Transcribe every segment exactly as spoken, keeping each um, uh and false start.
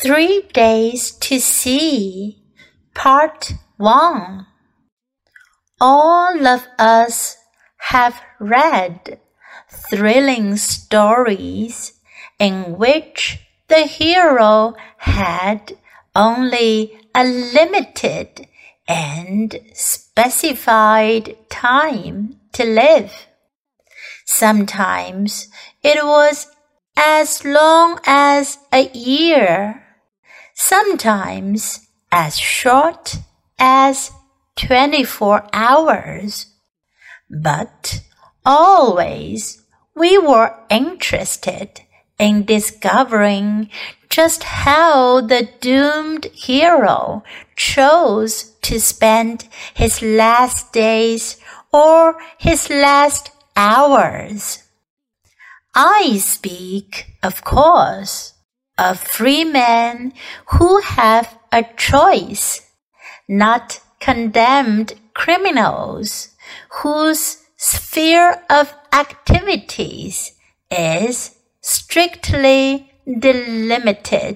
Three Days to See, Part one. All of us have read thrilling stories in which the hero had only a limited and specified time to live. Sometimes it was as long as a year, sometimes as short as twenty-four hours. But always we were interested in discovering just how the doomed hero chose to spend his last days or his last hours. I speak, of course, of free men who have a choice, not condemned criminals whose sphere of activities is strictly delimited.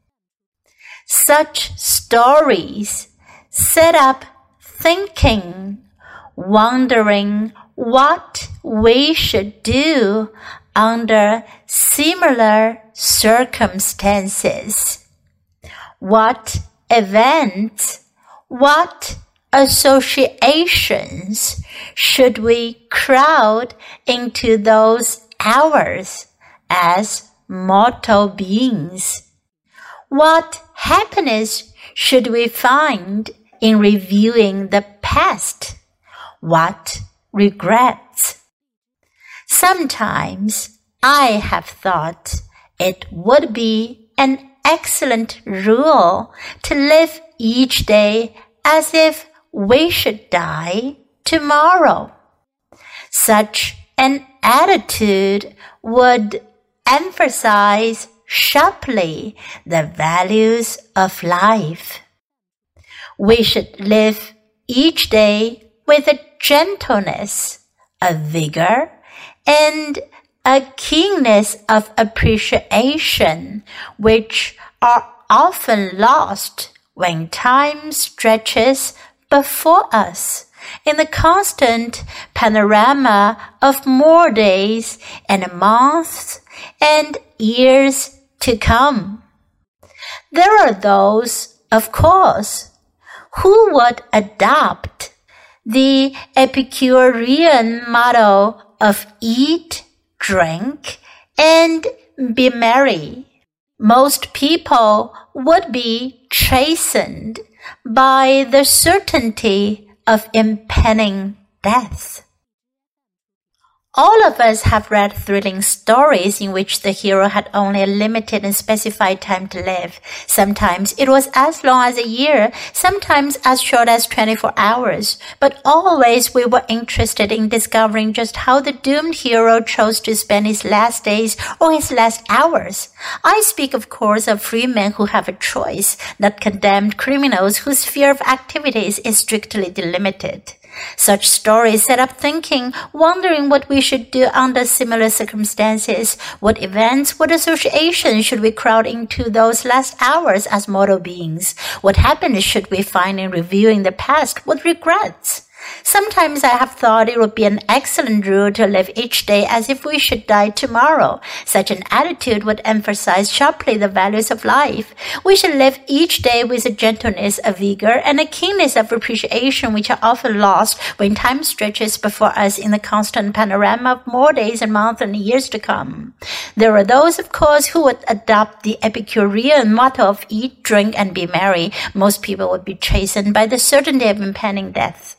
Such stories set up thinking, wondering what we should do under similar circumstances. What events, what associations should we crowd into those hours as mortal beings? What happiness should we find in reviewing the past? What regrets? Sometimes I have thought it would be an excellent rule to live each day as if we should die tomorrow. Such an attitude would emphasize sharply the values of life. We should live each day with a gentleness, a vigor, and a keenness of appreciation which are often lost when time stretches before us in the constant panorama of more days and months and years to come. There are those, of course, who would adopt the Epicurean motto of eat, drink, and be merry. Most people would be chastened by the certainty of impending death. All of us have read thrilling stories in which the hero had only a limited and specified time to live. Sometimes it was as long as a year, sometimes as short as twenty-four hours. But always we were interested in discovering just how the doomed hero chose to spend his last days or his last hours. I speak, of course, of free men who have a choice, not condemned criminals whose sphere of activities is strictly delimited. Such stories set up thinking, wondering what we should do under similar circumstances. What events, what associations should we crowd into those last hours as mortal beings? What happiness should we find in reviewing the past? What regrets? Sometimes I have thought it would be an excellent rule to live each day as if we should die tomorrow. Such an attitude would emphasize sharply the values of life. We should live each day with a gentleness, a vigor, and a keenness of appreciation which are often lost when time stretches before us in the constant panorama of more days and months and years to come. There are those, of course, who would adopt the Epicurean motto of eat, drink, and be merry. Most people would be chastened by the certainty of impending death.